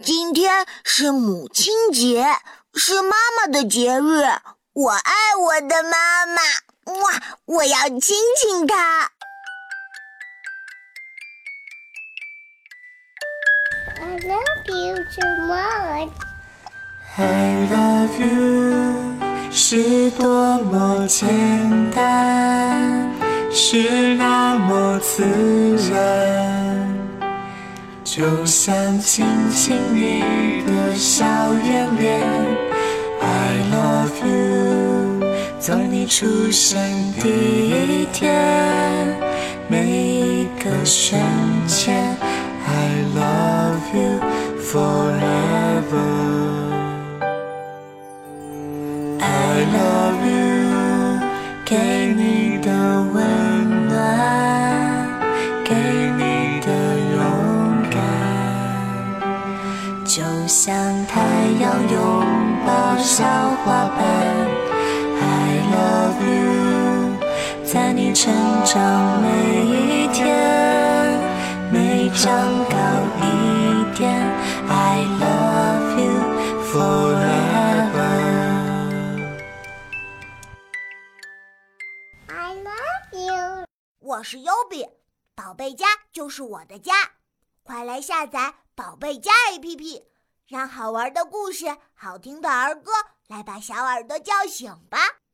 今天是母亲节，是妈妈的节日，我爱我的妈妈，哇，我要亲亲她。 I love you so much. I love you 是多么简单，是那么自然，就像亲亲你的小圆脸。I love you 从你出生第一天，每一个瞬间。I love you forever. I love you 给你的温暖，给你的勇敢，就像太阳拥抱小花瓣。I love you 在你成长每一天，每长高一点。I love you forever. I love you. 我是优比，宝贝家就是我的家，快来下载宝贝家 APP， 让好玩的故事、好听的儿歌来把小耳朵叫醒吧。